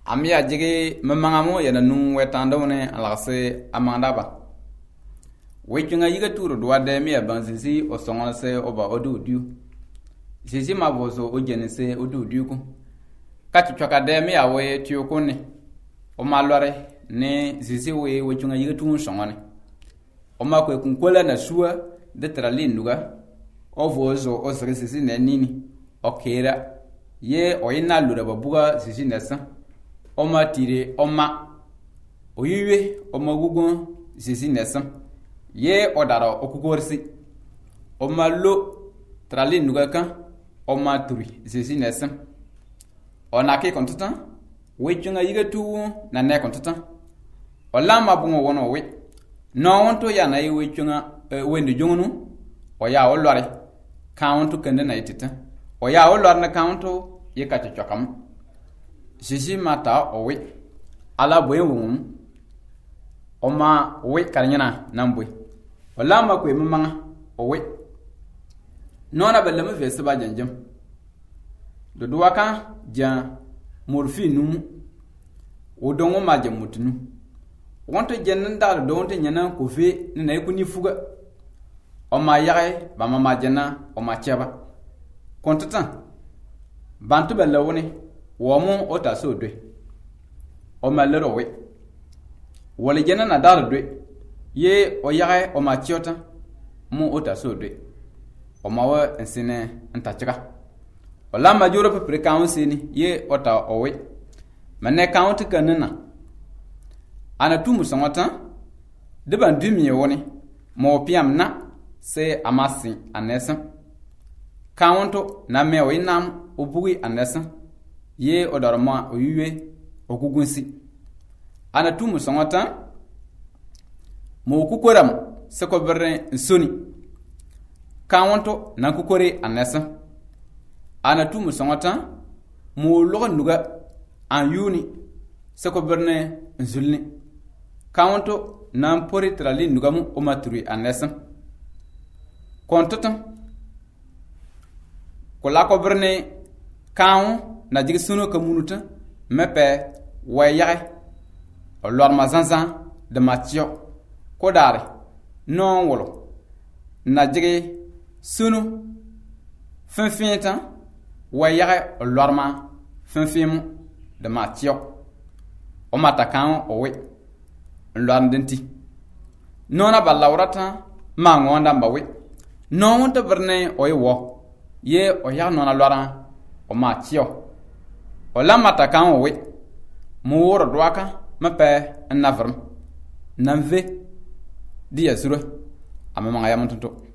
Amia jigi mamangamo yana nung wetando ne alagse amandaba. Wechunga yiga turu duwade mi abansisi o songolse oba odu diu. Sisi maboso o jenese odu diu ku. Kati chokade mi awe tiyokone. O malware ne sisi we wechunga yiga turu songone. O makwe kunkola na sua de trali nuga. O vozo o sisi ne nini. O kera. Ye o ina lura babuga sisi nesa. Oma tire oma oyiwe oma gugun sisi nesam ye odara okukorsi oma lo trali nugakan oma turi sisi nesam ona ke kontutan wechunga yiga tu na ne kontutan olama bungo wono we no wonto ya na wechunga wendu jungunu oya olore kauntu kende na itita oya olore na kauntu ye kachokam sisi mata owe ala boy wum oma owe karnyana nambwe olama kwe mamanga owe nona belema vese ba janjam do duwaka jan morfinu odongo maje mutunu wonto jennan dal do wonto nyana ko fe na ikuni fuga oma yae ba mama jana oma cheba kontatan bantu belawone womu ota so dwe o malero we wole jena na dar dwe ye o yae o machiota mu ota so dwe o mawa ensine ntachika o la majuro pe prekausi ni ye ota o we mane count kanana ana tumu songota de ban dumi woni mo piam na se amasi anesa counto na me o inam o bugui anesa ye odorma oyuwe okugunsi ana tumu songota mo kukoram seko berre nsoni kawonto na kukore anesa ana tumu songota mo logo nuga an yuni seko berne nzulni kawonto na pori trali nuga mu o maturi anesa kontotam ko la ko berne kawon na jigi sunu ka munuta mepe wayage o lor mazanzan de matio ko dare non wolo na jigi sunu finfinta wayage o lor ma finfimu de matio o matakan o we lor denti nona balawrata ma ngonda mbawe non wonta berne o yewo ye o ya nona lora o matio o la matakan o we mo woro dwaka mape navrum nanve dia sura amama ya mutunto